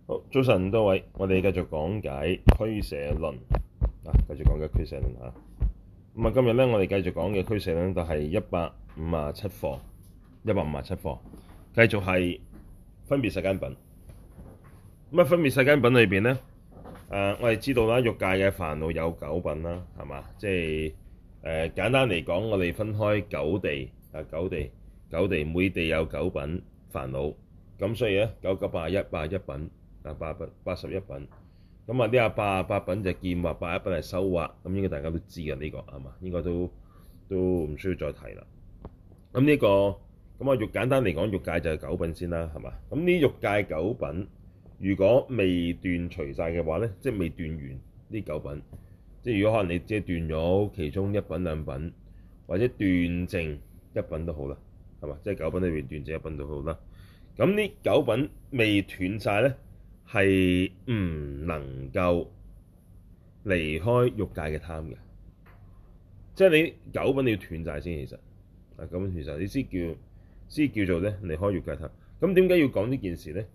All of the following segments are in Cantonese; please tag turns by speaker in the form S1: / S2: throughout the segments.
S1: 好，早晨多位，我哋繼續講解俱舍論繼續講解俱舍論嚇。今日咧，我哋繼續講嘅俱舍論就係157課，157課，繼續係分別世間品。分別世間品裏邊咧，我哋知道啦，欲界嘅煩惱有九品啦，係嘛？即係簡單嚟講，我哋分開九地，每地有九品煩惱，咁所以咧9、9、81品。81品，咁呢88品就見惑，81品係修惑，咁應該大家都知嘅呢個係嘛？應該都唔需要再提啦。咁呢個咁簡單嚟講，欲界就係九品先啦，係嘛？咁呢欲界九品，如果未斷除晒嘅話咧，即係未斷完呢九品，即係如果可能你只係斷咗其中一品兩品，或者斷剩一品都好啦，係嘛？即係九品裏邊斷剩一品都好啦。咁呢九品未斷晒咧，係唔能夠離開欲界嘅貪嘅，即係你九品你要斷晒先，其實九品斷晒你先叫做咧離開欲界貪。咁點解要講呢件事咧？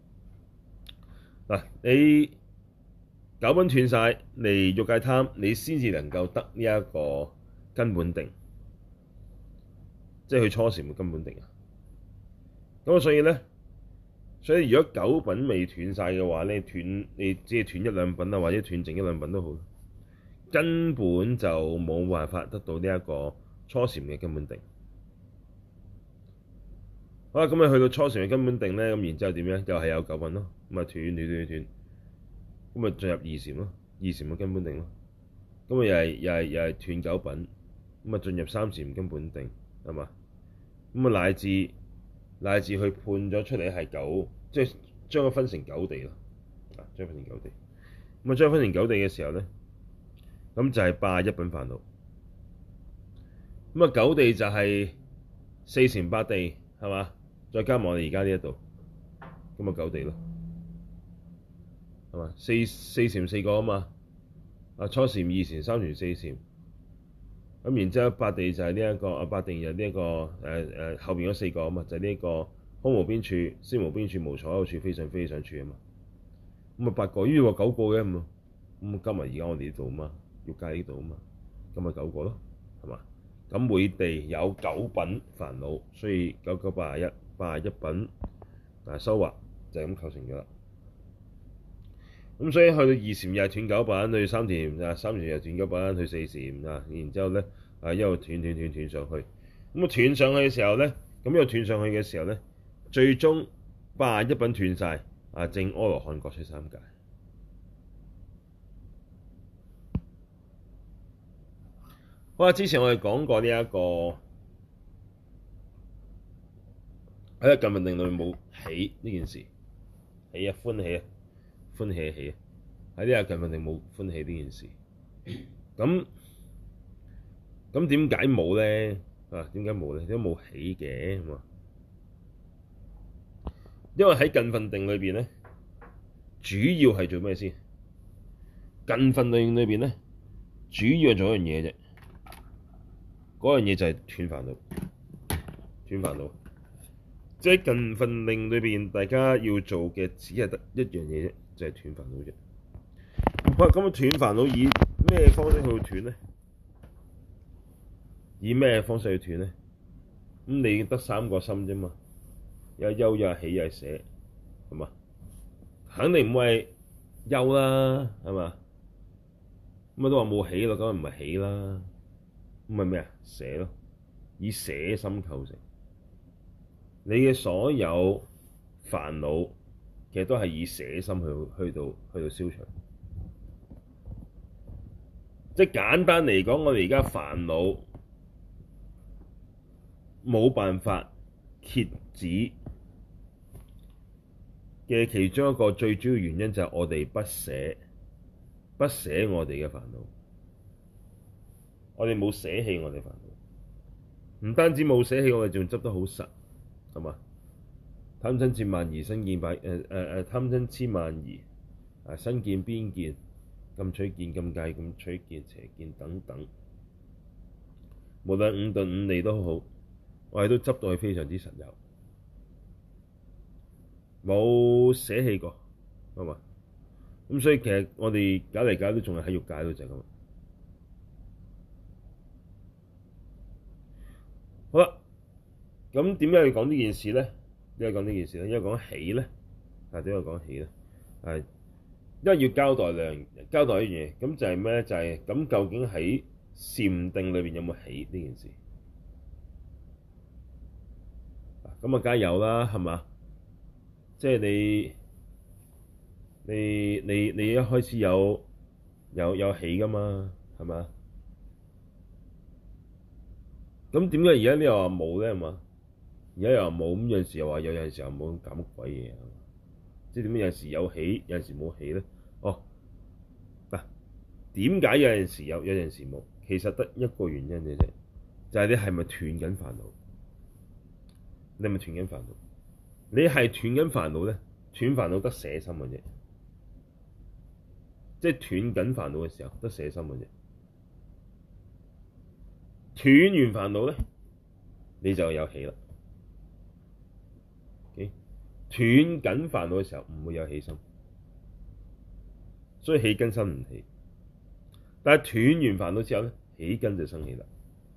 S1: 你九品斷晒離欲界貪，你先至能夠得呢一個根本定，即係去初禪嘅根本定啊。咁所以如果九品未斷晒嘅話咧，你只係斷一兩品啊，或者斷剩一兩品都好，根本就冇辦法得到呢一個初禪嘅根本定。好啦，咁你去到初禪嘅根本定咧，咁然之後點樣？又係有九品咯，咁啊斷，咁啊進入二禪咯，二禪嘅根本定咯，咁啊又係斷九品，咁啊進入三禪根本定，係嘛？咁啊乃至去判咗出嚟係九，即係將佢分成九地咯，將分成九地。咁啊將分成九地嘅時候咧，咁就係81品煩惱。咁啊九地就係四禪八地，係嘛？再加埋我哋而家呢一度，咁啊九地咯，係嘛？四禪四個啊嘛，初禪、二禪、三禪、四禪。咁然之後八地就係呢一個八地就呢一個後邊嗰四個啊嘛，就係呢一個空無邊處、識無邊處、無所有處、非想非非想處啊嘛。咁啊八個，於話九個嘅咁加埋而家我哋呢度啊嘛，欲界呢度啊嘛，咁咪九個咯，係嘛？咁每地有九品煩惱，所以9、9、81品修惑就係咁構成咗啦。咁所以去到二禪又係斷九品，去三禪又斷九品，去四禪然之後咧一路斷上去。咁斷上去嘅時候咧，咁又斷上去嘅時候咧，最終81品斷晒證阿羅漢各出三界。好啦，之前我哋講過呢一個喺近分定裏面冇喜呢件事，歡喜喺呢個近分定冇歡喜呢件事。咁點解冇咧？點解冇咧？點解冇喜嘅？因為喺近分定裏邊咧，主要係做咩先？近分定裏邊咧，主要係做一樣嘢啫。嗰樣嘢就係斷煩惱。即係近分定裏邊，大家要做嘅只係得一樣嘢啫，就係斷煩惱啫。咁斷煩惱以咩方式去斷咧？以咩方式去斷咧？咁你得三個心啫嘛，有憂、有喜、有捨，係嘛？肯定唔會係憂啦，係嘛？咁都話冇喜咯，咁唔係喜啦，咁係咩啊？捨咯，以捨心構成。你嘅所有煩惱其實都係以捨心去到消除。即係簡單嚟講，我哋而家煩惱冇辦法遏止嘅其中一個最主要原因就係我哋不捨我哋嘅煩惱。我哋冇捨棄我哋煩惱，唔單止冇捨棄，我哋仲執得好實，係嘛？貪瞋痴慢疑身見貪瞋痴慢疑身見邊見禁取見禁戒禁取見邪見等等，無論五頓五利都好，我哋都執到係非常之實有，冇捨棄過， 係嘛？咁所以其實我哋搞嚟搞去都仲係喺欲界度就係咁。好啦，咁點解要講呢件事咧？點解講呢件事咧？因為講喜咧，點解講喜咧？係因為要交代交代一樣嘢，咁就係咩咧？就係咁究竟喺禪定裏邊有冇喜呢件事？咁啊，梗係有啦，係嘛？即係你一開始有喜噶嘛，係嘛？咁點解而家呢又話冇咧？係嘛？而家又話冇，咁有陣時又話有，有陣時又冇，搞乜鬼嘢？即係點解有陣時有喜，有陣時冇喜咧？哦，嗱，點解有陣時有，有陣時冇？其實得一個原因嘅啫，就係你係咪斷緊煩惱？你係咪斷緊煩惱？你係斷緊煩惱咧，斷煩惱得捨心嘅啫，即係斷緊煩惱嘅時候得捨心嘅啫。斷完煩惱咧，你就有喜啦。斷緊煩惱嘅時候唔會有喜心，所以喜根生唔起。但係斷完煩惱之後咧，喜根就生起啦。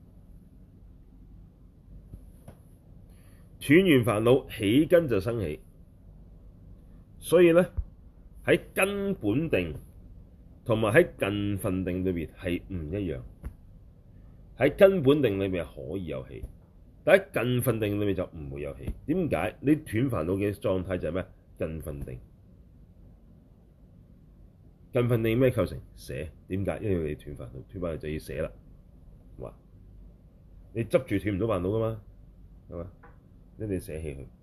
S1: 斷完煩惱，喜根就生起。所以咧，喺根本定同埋喺近分定裏邊係唔一樣。喺根本定裏面可以有喜，但喺近分定裏面就唔會有喜。點解？你斷煩惱嘅狀態就係咩？近分定。近分定咩構成？捨。點解？因為你斷煩惱，斷煩惱就要捨啦。哇！你執住斷唔到煩惱噶嘛？係嘛？一定要捨棄佢。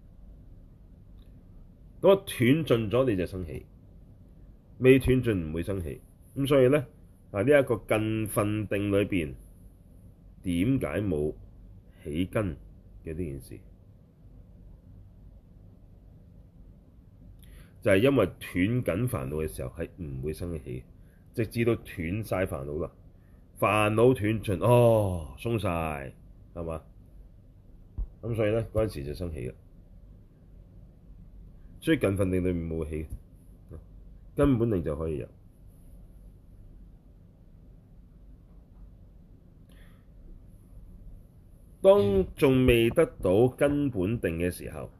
S1: 咁啊，斷盡咗你就生起，未斷盡唔會生起。咁所以咧，呢一個近分定裏邊點解冇喜根嘅呢件事？就係因為斷緊煩惱嘅時候係唔會生起，直至到斷晒煩惱啦，煩惱斷盡，哦，鬆晒，係嘛？咁所以咧，嗰陣時就生起嘅。所以近分定裏面冇喜，根本定就可以有。當仲未得到根本定嘅時候，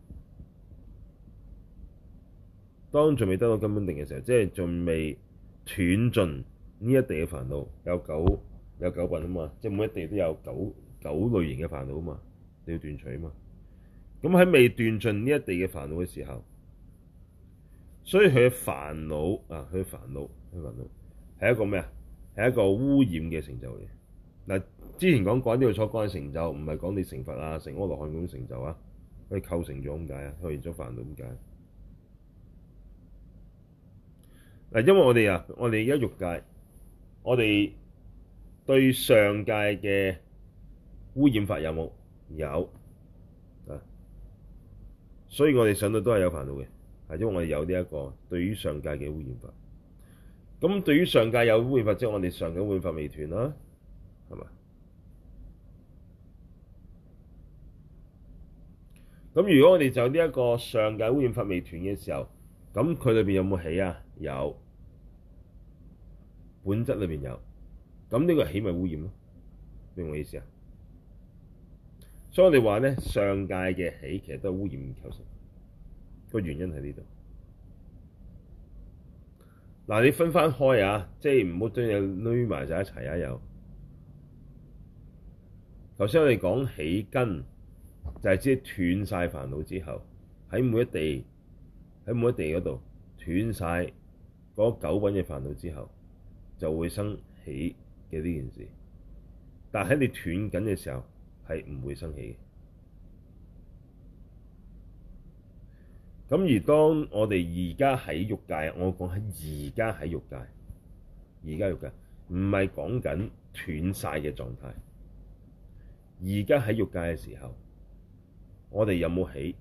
S1: 當仲未得到根本定嘅時候，即係仲未斷盡呢一地嘅煩惱，有九品啊嘛，即係每一地都有九類型嘅煩惱啊嘛，你要斷除啊嘛。咁喺未斷盡呢一地嘅煩惱嘅時候，所以佢嘅煩惱啊，佢嘅煩惱係一個咩啊？係一個污染嘅成就嚟。嗱，之前講過呢度所講嘅成就，唔係講你成佛啊、成阿羅漢咁成就啊，佢構成咗咁解啊，構成咗煩惱咁解。嗱，因為我哋而家欲界，我哋對上界嘅污染法有冇？有啊，所以我哋上到都係有煩惱嘅，係因為我哋有呢一個對於上界嘅污染法。咁對於上界有污染法，即係我哋上界污染法未斷啦，係嘛？咁如果我哋就呢一個上界污染法未斷嘅時候，咁佢裏邊有冇喜啊？有，本質裏邊有。咁呢個喜咪污染咯？明唔明我意思啊？所以我哋話咧，上界嘅喜其實都係污染構成，個原因喺呢度。嗱，你分翻開啊，即係唔好將嘢攆埋晒一齊啊！又頭先我哋講喜根，就係即係斷晒煩惱之後，喺每一地嗰度斷晒嗰九品嘅煩惱之後，就會生喜嘅呢件事。但喺你斷緊嘅時候，係唔會生起嘅。咁而當我哋而家喺欲界，我講喺而家喺欲界，而家欲界唔係講緊斷晒嘅狀態。而家喺欲界嘅時候，我哋有冇喜？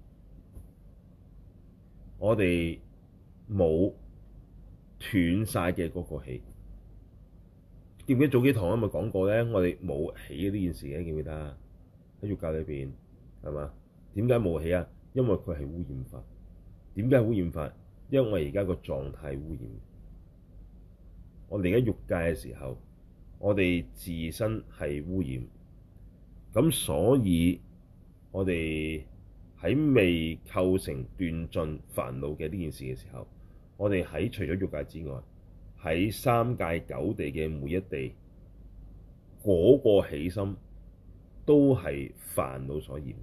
S1: 我哋冇斷晒嘅嗰個喜。記唔記得早幾堂咪講過咧？我哋冇喜呢件事嘅，記唔記得啊？喺欲界裏邊係嘛？點解冇喜啊？因為佢係污染法。點解係污染法？ 因為而家個狀態污染。我哋而家欲界嘅時候，我哋自身係污染，咁所以我哋喺未構成斷盡煩惱嘅呢件事嘅時候，我哋喺除咗欲界之外，喺三界九地嘅每一地，嗰個起心都係煩惱所染，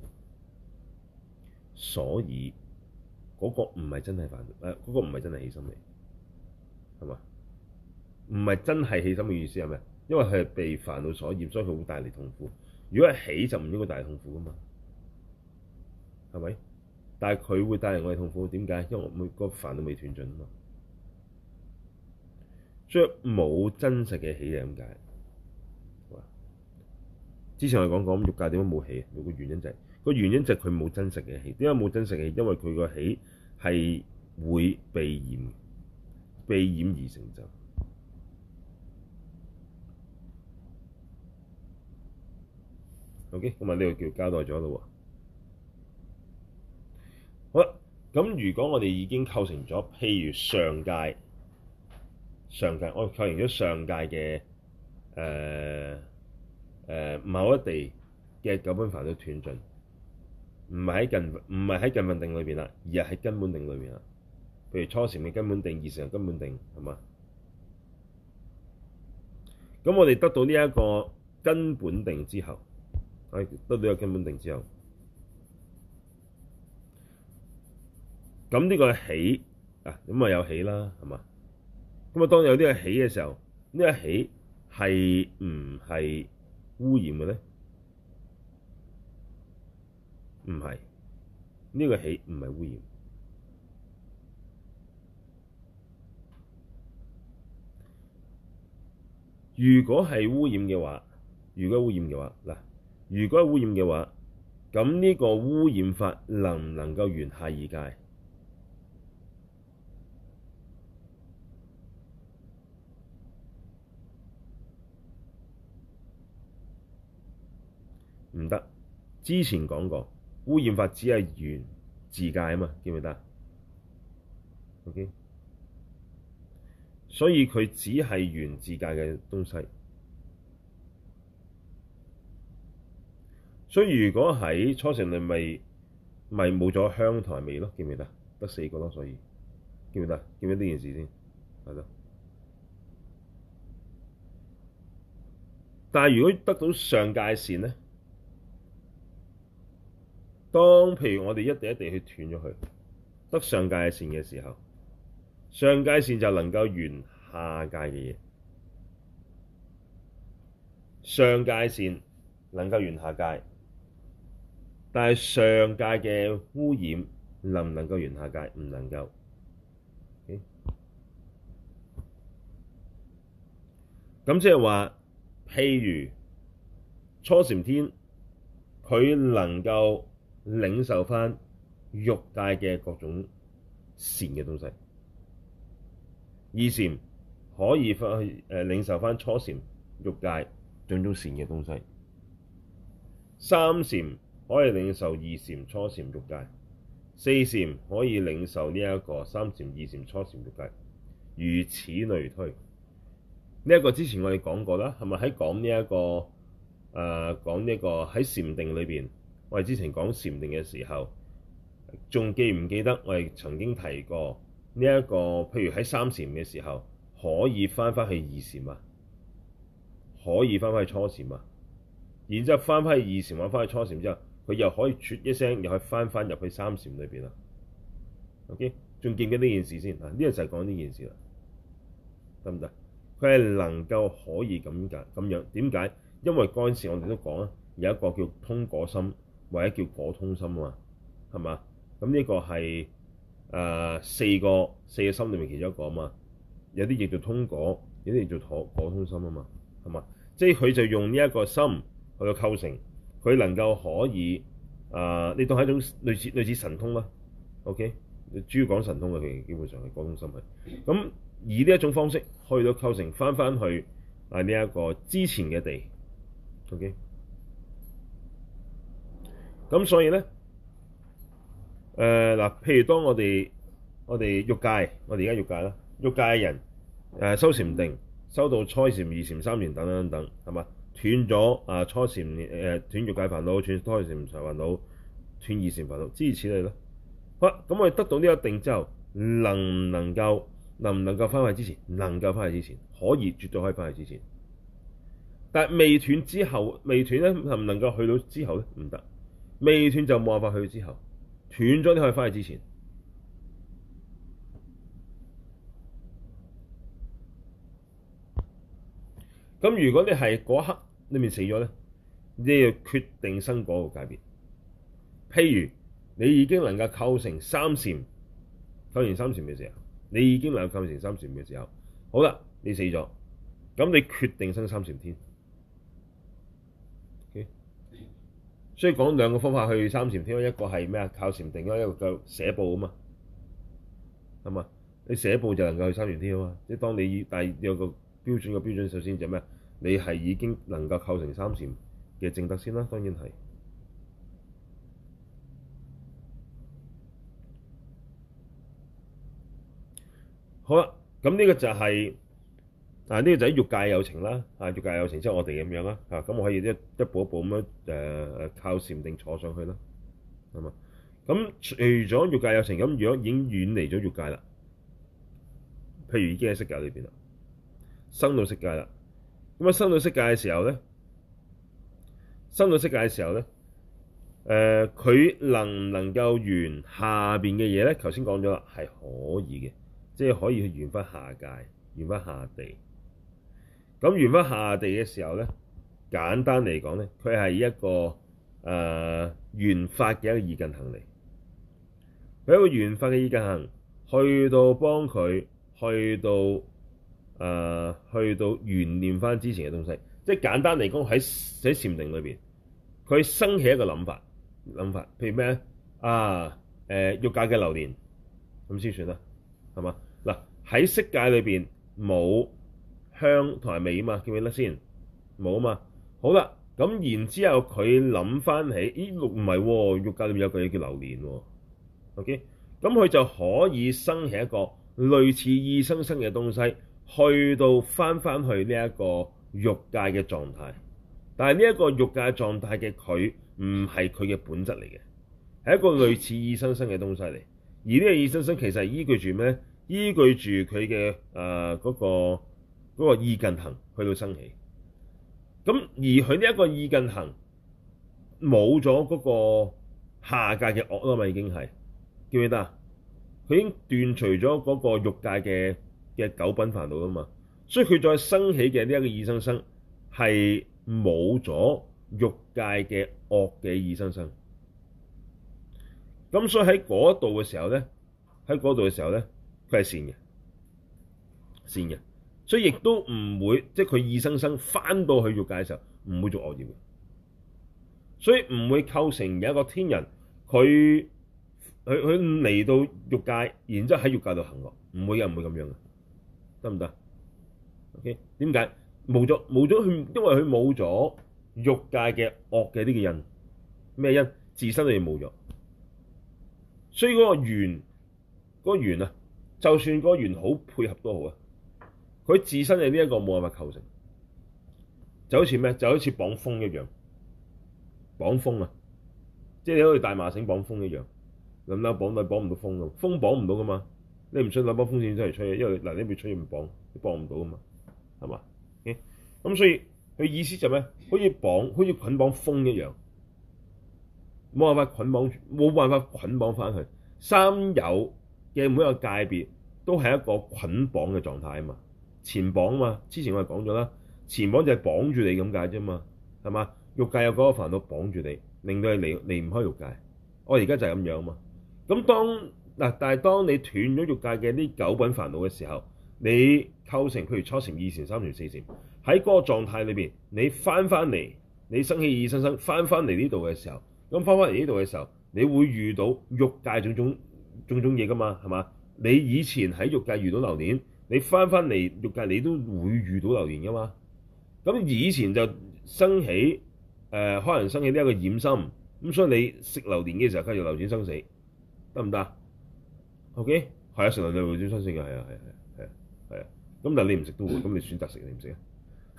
S1: 所以嗰個唔係真係煩惱，嗰個唔係真係起心嚟，係嘛？唔係真係起心嘅意思係咩？因為佢係被煩惱所染，所以佢會帶嚟痛苦。如果係起就唔應該帶嚟痛苦噶嘛，係咪？但係佢會帶嚟我哋痛苦，點解？因為每個煩惱未斷盡啊嘛，所以冇真實嘅起嘅咁解。之前我哋講欲界點解冇起？有個原因就係佢冇真實嘅起。點解冇真實嘅起？因為佢個起係會被染，被染而成就。OK， 咁啊呢個叫交代咗咯喎。好啦，咁如果我哋已經構成咗，譬如上界，我哋構成咗上界嘅某一地嘅九品煩惱斷盡，唔係喺近分定裏邊啦，而係喺根本定裏邊啦。譬如初禪嘅根本定、二禪嘅根本定，係嘛？咁我哋得到呢一個根本定之後，得到呢個根本定之後，咁呢個起啊，咁啊有起啦，係嘛？咁啊當有呢個起嘅時候，呢個起係唔係污染嘅咧？唔係，呢個起唔係污染。如果係污染嘅話，如果係污染嘅話，咁呢個污染法能唔能夠緣下二界？唔得。之前講過，污染法只係緣自界啊嘛，記唔記得？OK，所以佢只係緣自界嘅東西。所以如果喺初禪裏咪冇咗香同埋味咯，記唔記得？得四個咯，所以記唔記得？記唔記得呢件事先？係咯。但係如果得到上界線咧，當譬如我哋一地一地去斷咗佢，得上界線嘅時候，上界線就能夠緣下界嘅嘢。上界線能夠緣下界，但係上界嘅污染能唔能夠緣下界？唔能夠。咁即係話，譬如初禪天，佢能夠領受返欲界嘅各種善嘅東西；二禪可以返去領受返初禪欲界種種善嘅東西；三禪可以領受二禪初禪欲界；四禪可以領受呢一個三禪二禪初禪欲界，如此類推。呢一個之前我哋講過啦，係咪喺講呢一個講呢個喺禪定裏邊？我哋之前講禪定嘅時候，仲記唔記得我哋曾經提過呢一個？譬如喺三禪嘅時候，可以翻返去二禪啊，可以翻返去初禪啊，然之後翻返去二禪或翻去初禪之後，佢又可以啜一聲，又可以翻入去三禪裏邊啦。OK，仲記唔記得呢件事先？呢個就係講呢件事啦，得唔得？佢係能夠可以咁樣，點解？因為嗰陣時我哋都講啦，有一個叫通果心，或者叫果通心啊嘛，係嘛？咁呢個係四個心裏面其中一個啊嘛。有啲亦做通果，有啲亦做果通心啊嘛，係嘛？即係佢就用呢一個心去到構成，佢能夠可以你當係一種類似神通啦。OK，主要講神通嘅，佢基本上係果通心係咁。以呢一種方式去到構成翻去呢一個之前嘅地 ，OK。咁所以咧，譬如當我哋我哋欲界，我哋而家欲界啦，欲界嘅人修禪定，修到初禪、二禪、三禪等等等等，係嘛？斷咗初禪斷欲界煩惱，斷初禪煩惱，斷二禪煩惱，諸如此類咯。好啦，咁我哋得到呢個定之後，能唔能夠翻去之前？能夠翻去之前，可以，絕對可以翻去之前。但係未斷之後，未斷咧，能唔能夠去到之後咧？唔得，未斷就冇辦法去到之後，斷咗你可以翻去之前。咁如果你係嗰刻裏面死咗咧，你要決定生嗰個界別。譬如你已經能夠構成三禪，構成三禪嘅時候，你已經能夠構成三禪嘅時候，好啦，你死咗，咁你決定生三禪天。Okay? 所以講兩個方法去三禪天，一個係咩啊？靠禪定，一個叫捨報啊嘛，係嘛？你捨報就能夠去三禪天啊嘛。即係當你但係有個標準嘅標準，首先就咩？你係已經能夠構成三禪嘅證德先啦，當然係。好啦，咁呢個就係呢個就係欲界有情啦。欲界有情即係我哋咁樣啦。咁我可以一步一步咁樣靠禪定坐上去啦，係嘛？咁除咗欲界有情，咁如果已經遠離咗欲界啦，譬如已經喺色界裏邊啦，生到色界啦。咁生到色界嘅時候咧，佢能唔能夠緣下邊嘅嘢咧？頭先講咗啦，係可以嘅，即係可以去緣翻下界，緣翻下地。咁緣翻下地嘅時候咧，簡單嚟講咧，佢係一個緣法嘅一個意近行嚟。佢一個緣法嘅意近行，去到幫佢去到緣念翻之前嘅東西。即係簡單嚟講，喺禪定裏邊，佢生起一個諗法，譬如咩咧？欲界嘅流年咁先算啦，係嘛？嗱，喺色界裏邊冇香同埋味啊嘛，記唔記得先？冇啊嘛。好啦，咁然之後佢諗翻起，咦，唔係喎，欲界裏面有個嘢叫流年喎。OK，咁佢就可以生起一個類似意生生嘅東西，去到翻去呢一個欲界嘅狀態。但係呢一個欲界狀態嘅佢唔係佢嘅本質嚟嘅，係一個類似意生生嘅東西嚟。而呢個意生生其實係依據住咩？依據住佢嘅嗰個意近行去到生起。咁而佢呢一個意近行冇咗嗰個下界嘅惡啦嘛，已經係記唔記得啊？佢已經斷除咗嗰個欲界嘅九品煩惱啦嘛，所以佢再生起嘅呢一個意生生係冇咗欲界嘅惡嘅意生生。咁所以喺嗰度嘅時候咧，佢係善嘅，所以亦都唔會即係佢意生生翻到去欲界嘅時候唔會做惡業嘅，所以唔會構成有一個天人佢嚟到欲界，然之後喺欲界度行惡，唔會咁樣嘅，得唔得 ？OK， 點解冇咗佢？因為佢冇咗欲界嘅惡嘅呢個因，咩因？自身裏面冇咗，所以嗰個緣啊，就算嗰個緣好配合都好啊，佢自身嘅呢一個冇辦法構成，就好似咩？就好似綁風一樣，綁風啊，即係你好似大麻繩綁風一樣。諗諗綁唔到風㗎，風綁唔到噶嘛？你唔想攞把風扇出嚟吹，因為嗱你邊吹唔綁，你綁唔到噶嘛，係嘛？咁所以佢意思就咩？好似捆綁風一樣，冇辦法捆綁翻去。三有嘅每一個界別都係一個捆綁嘅狀態啊嘛，纏綁啊嘛。之前我哋講咗啦，纏綁就係綁住你咁解啫嘛，係嘛？欲界有嗰個煩惱綁住你，令到你離唔開欲界。我而家就係咁樣啊嘛。咁但係當你斷咗欲界嘅呢九品煩惱嘅時候，你構成譬如初禪、二禪、三禪、四禪，喺嗰個狀態裏邊，你翻嚟，你生起意生生翻嚟呢度嘅時候，咁翻嚟呢度嘅時候，你會遇到欲界種種嘢噶嘛，係嘛？你以前喺欲界遇到流年，你翻嚟欲界你都會遇到流年噶嘛。咁以前就生起可能生起呢一個染心，咁所以你食流年嘅時候，繼續流轉生死。得唔得？OK， 係啊，食流流會點生死嘅，係啊，係啊，係啊，係啊。咁但係你唔食都會，咁你選擇食你唔食啊？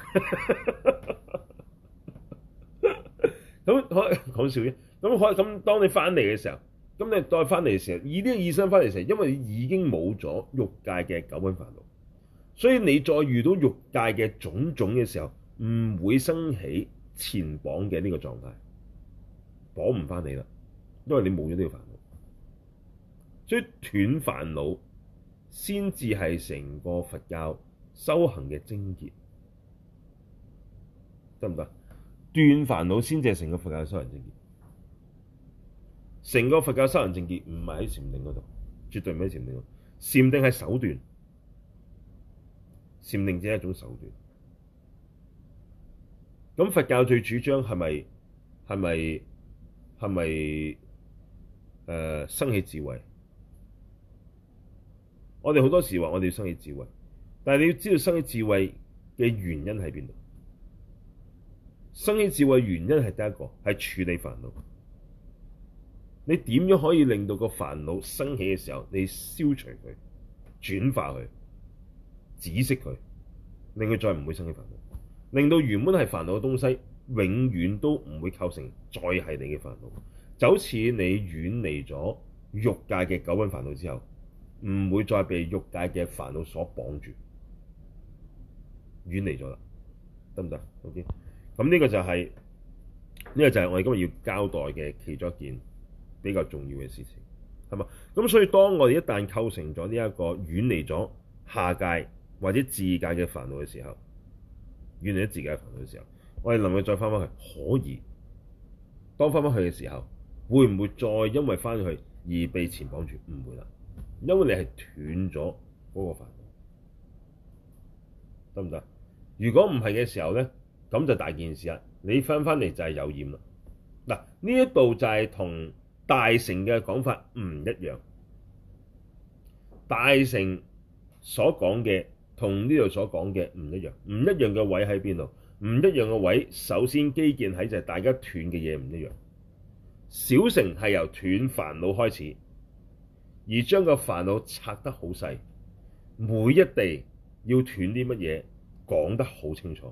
S1: 咁可講笑啫。咁當你翻嚟嘅時候，咁你再翻嚟嘅時候，以呢個意識翻嚟嘅時候，因為你已經冇咗欲界嘅九品煩惱，所以你再遇到欲界嘅種種嘅時候，唔會生起纏綁嘅呢個狀態，綁唔翻你啦，因為你冇咗呢個煩惱。所以斷煩惱先至係成個佛教修行嘅精結，得唔得？斷煩惱先至係成個佛教修行精結。成個佛教修行精結唔係喺禪定嗰度，絕對唔喺禪定嗰度。禪定係手段，禪定只係一種手段。咁佛教最主張係咪生起智慧？我哋好多時話我哋要生起智慧，但係你要知道生起智慧嘅原因喺邊度？生起智慧原因係第一個係處理煩惱。你點樣可以令到個煩惱生起嘅時候，你消除佢、轉化佢、止息佢，令佢再唔會生起煩惱，令到原本係煩惱嘅東西永遠都唔會構成再係你嘅煩惱。就好似你遠離咗欲界嘅九品煩惱之後，唔會再被欲界嘅煩惱所綁住，遠離咗啦，得唔得 ？OK， 咁呢個就係我哋今日要交代嘅其中一件比較重要嘅事情，係嘛？咁所以當我哋一旦構成咗呢一個遠離咗下界或者自界嘅煩惱嘅時候，遠離咗自界嘅煩惱嘅時候，我哋能夠再翻返去，可以。當翻返去嘅時候，會唔會再因為翻去而被纏綁住？唔會啦。因為你係斷咗嗰個煩惱，得唔得？如果唔係嘅時候咧，咁就大件事啦。你翻嚟就係有染啦。嗱，呢一度就係同大乘嘅講法唔一樣。大乘所講嘅同呢度所講嘅唔一樣。唔一樣嘅位喺邊度？唔一樣嘅位，首先基建喺就係大家斷嘅嘢唔一樣。小乘係由斷煩惱開始。而將個煩惱拆得好細，每一地要斷啲乜嘢講得好清楚。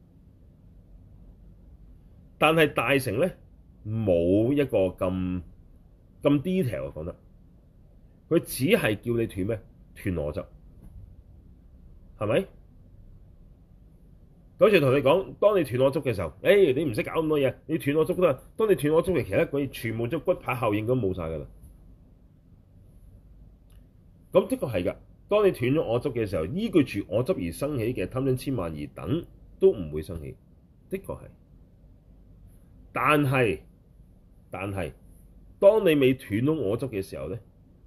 S1: 但係大乘咧冇一個咁 detail 講得，佢只係叫你斷咩？斷我執，係咪？好似同你講，當你斷我執嘅時候，你唔識搞咁多嘢，你斷我執都得。當你斷我執嘅其他嗰啲全部都骨牌效應都冇晒㗎啦。咁的確係㗎。當你斷咗我執嘅時候，依據住我執而生起嘅貪嗔痴慢疑等都唔會生起，的確係。但係，當你未斷到我執嘅時候咧，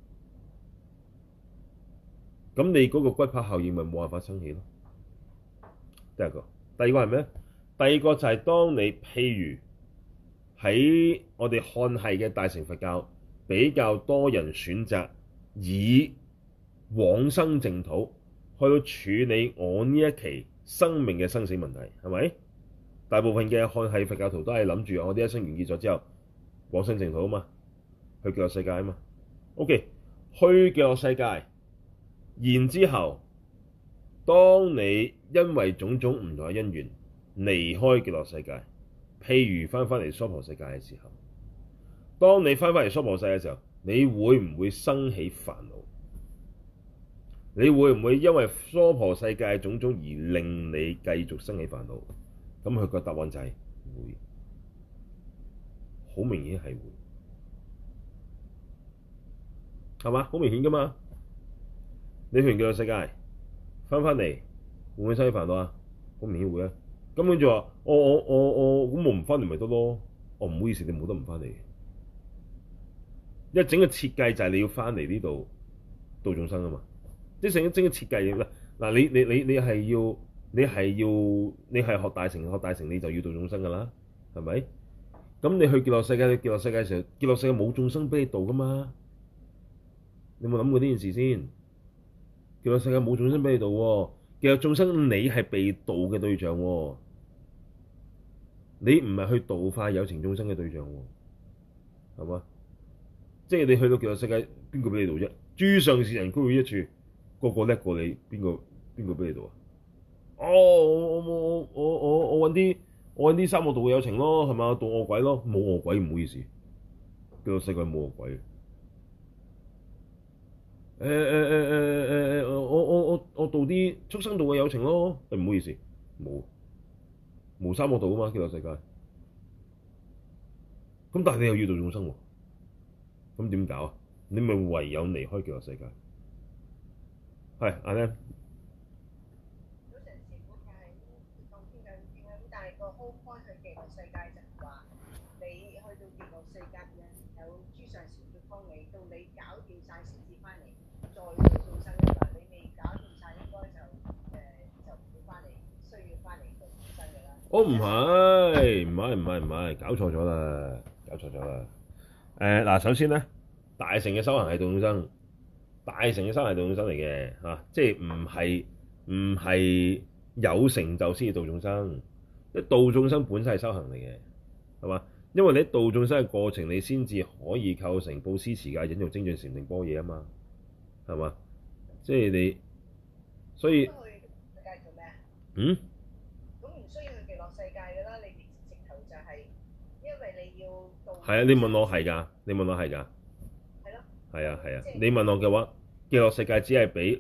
S1: 咁你嗰個骨牌效應咪冇辦法生起咯。第一個，第二個係咩？第二個就係當你譬如喺我哋漢系嘅大乘佛教，比較多人選擇以往生淨土去到處理我呢一期生命嘅生死問題，係咪？大部分嘅漢系佛教徒都係諗住我呢一生完結咗之後往生淨土啊嘛，去極樂世界啊嘛。OK， 去極樂世界，然之後當你因為種種唔同嘅因緣離開極樂世界，譬如翻嚟娑婆世界嘅時候，當你翻嚟娑婆世界嘅時候，你會唔會生起煩惱？你會唔會因為娑婆世界嘅種種而令你繼續生起煩惱？咁佢個答案就係會，好明顯係會，係嘛？好明顯噶嘛？你去完極樂世界翻嚟，會唔會生起煩惱啊？好明顯會啊！咁佢就話：我咁我唔翻嚟咪得咯？我唔好意思，你冇得唔翻嚟。因為整個設計就係你要翻嚟呢度度眾生啊嘛。即係整個設計嘅嗱，你係學大乘，你就要度眾生噶啦，係咪？咁你去極樂世界嘅時候，極樂世界冇眾生俾你度噶嘛？你有冇諗過呢件事先？極樂世界冇眾生俾你度喎，極樂眾生你係被度嘅對象喎，你唔係去度化有情眾生嘅對象喎，係嘛？即係你去到極樂世界，邊個俾你度啫？ 諸上善人俱會一處，個個叻過你，邊個俾你度啊？哦，我揾啲三惡道嘅有情咯，係嘛？度惡鬼咯，冇惡鬼唔好意思，叫個世界冇惡鬼。我度啲畜生道嘅有情咯，唔好意思，冇三惡道啊嘛，叫個世界。咁但係你又要度眾生喎，咁點搞啊？你咪唯有離開極樂世界。係阿 Lam。
S2: 早晨師傅係講傾緊咁，但係個開去極樂世界就話你去到極樂世界有諸上善會幫你，到你搞掂晒先至翻嚟，再度眾生嘅話，你未搞掂晒應該就唔會翻嚟，需要翻嚟做眾生嘅啦。
S1: 我唔係，搞錯咗啦。嗱，首先咧，大乘嘅修行係度眾生，大乘嘅修行係度眾生嚟嘅嚇，即係唔係有成就先至度眾生。即係度眾生本身係修行嚟嘅，係嘛？因為你喺度眾生嘅過程，你先至可以構成布施持戒忍辱精進禪定般若啊嘛，係嘛？即係你，所以
S2: 去世界做咩啊？
S1: 嗯。
S2: 咁唔需要去極樂世界㗎啦，你直頭就係因為你要度。
S1: 係啊，你問我係㗎。
S2: 係咯。
S1: 係啊，你問我嘅話，極樂世界只係俾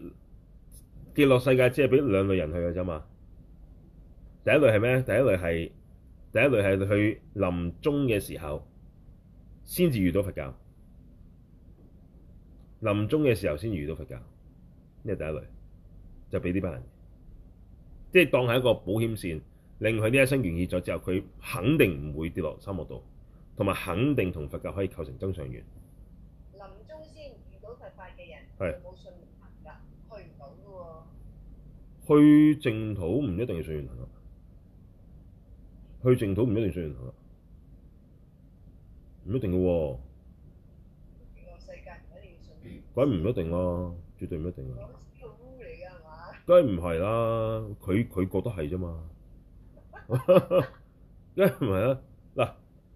S1: 兩類人去嘅啫嘛。第一類係咩？第一類係去臨終嘅時候先至遇到佛教，臨終嘅時候先遇到佛教，呢係第一類，就俾呢班人，即係當係一個保險線，令佢呢一生完結咗之後，佢肯定唔會跌落三惡道，同埋肯定同佛教可以構成增上緣。
S2: 臨終先遇到佛法嘅人，
S1: 係
S2: 冇信行㗎，去唔到㗎喎。
S1: 去淨土唔一定係信緣行，去淨土唔一定信緣行，唔一定嘅喎。
S2: 極樂世界唔一定要信。
S1: 梗唔一定啦，絕對唔一定啦。
S2: 呢個污嚟㗎係嘛？
S1: 梗係唔係啦，佢覺得係啫嘛。梗係唔係啦。嗱，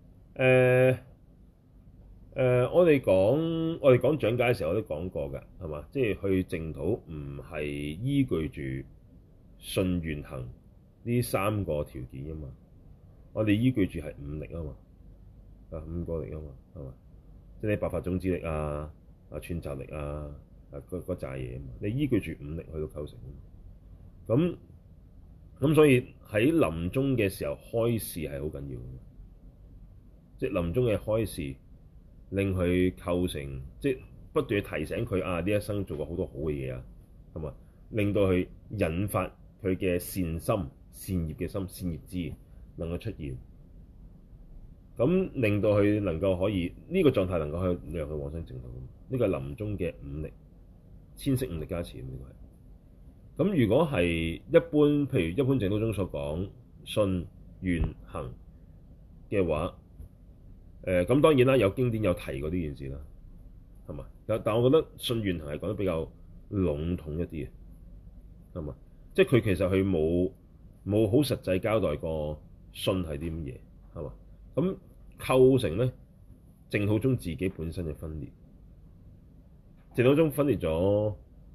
S1: 我哋講講解嘅時候我都講過㗎，係嘛？即係去淨土唔係依據住信緣行呢三個條件㗎嘛，我哋依據住係五力啊嘛，五個力啊嘛，係嘛？即係你白法種子力啊，串習力啊，嗰扎嘢啊嘛，你依據住五力去到構成啊。咁所以喺臨終嘅時候開示係好緊要嘅，即係臨終嘅開示令佢構成，即係不斷提醒佢呢一生做過好多好嘅嘢啊，係嘛？令到佢引發佢嘅善心、善業嘅心、善業智能夠出現，咁令到佢能夠可以呢個狀態能夠去讓佢往生淨土。呢個係臨終嘅五力，千色五力加持呢個係。咁如果係一般，譬如一般淨土中所講信緣行嘅話，咁當然啦，有經典有提過呢件事啦，係嘛？但我覺得信緣行係講得比較籠統一啲嘅，係嘛？即係佢其實佢冇好實際交代過信係啲乜嘢，係嘛？咁構成咧淨土中自己本身嘅分裂，淨土中分裂咗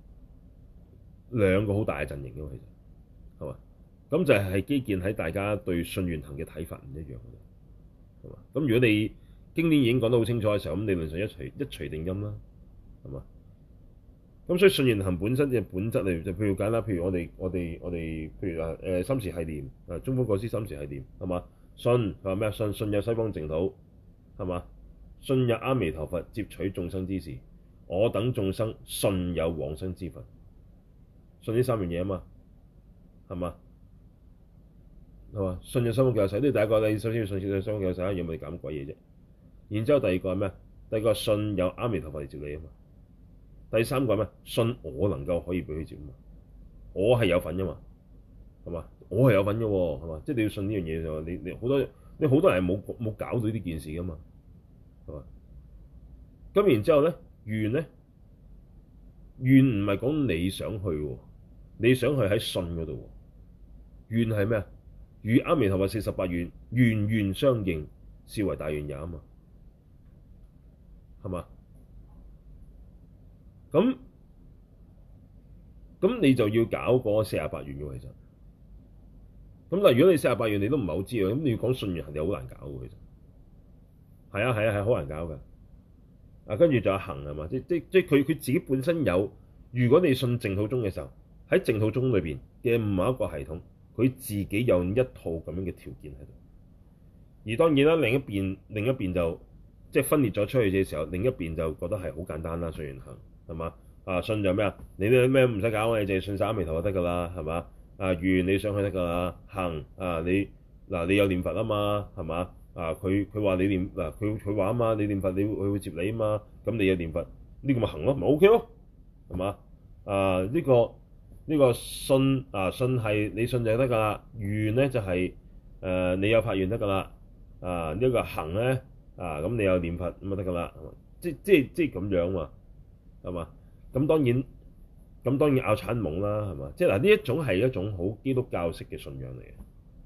S1: 兩個好大嘅陣營嘅，其實係嘛？咁就係基建喺大家對信緣行嘅睇法唔一樣嘅，係嘛？咁如果你經典已經講得好清楚嘅時候，咁理論上一錘定音啦，係嘛？咁所以信緣行本身嘅本質嚟，就譬如簡單，譬如我哋譬如三時繫念中觀果師三時繫念，係嘛？信佢話咩？信有西方淨土，係嘛？信有阿彌陀佛接取眾生之時，我等眾生信有往生之佛。信呢三樣嘢啊嘛，係嘛？係嘛？信有西方極樂世界，呢第一個，你首先要信有西方極樂世界，有冇你搞乜鬼嘢啫？然之後第二個係咩？第二個信有阿彌陀佛嚟接你啊嘛。第三個係咩？信我能夠可以俾佢接啊嘛。我係有份噶嘛，係嘛？我係有份嘅喎，係嘛？即係你要信呢樣嘢就你好多人係冇搞到呢件事噶嘛，係嘛？咁然之後咧，願唔係講你想去喎，你想去喺信嗰度喎。願係咩啊？與阿彌陀佛48願願願相應，是為大願也啊嘛，係嘛？ 咁你就要搞嗰48願嘅其實。咁但係如果你48願你都唔係好知啊，咁你要講信緣係好難搞嘅其實。係啊係啊係好難搞㗎。啊，跟住仲有行係嘛？即佢自己本身有。如果你信淨土宗嘅時候，喺淨土宗裏邊嘅某一個系統，佢自己有一套咁樣嘅條件喺度。而當然啦，另一邊就即係分裂咗出去嘅時候，另一邊就覺得係好簡單啦。信緣行係嘛？啊，信就咩啊？你啲咩唔使搞，你淨係信三阿彌陀就得㗎啦，係嘛？啊，願你上去得㗎啦。行啊，你有念佛啊嘛，係嘛？啊，佢話你念嗱，佢話啊嘛，你念佛佢會接你啊嘛，咁你有念佛呢個咪行咯，咪 OK 咯，係嘛？啊，呢個信啊，信係你信就得㗎啦，願咧就係你有發願得㗎啦，啊呢個行咧啊咁你有念佛咁就得㗎啦，即咁樣嘛，係嘛？咁當然拗產懵啦，係嘛？即係嗱，呢一種係一種好基督教式嘅信仰嚟嘅。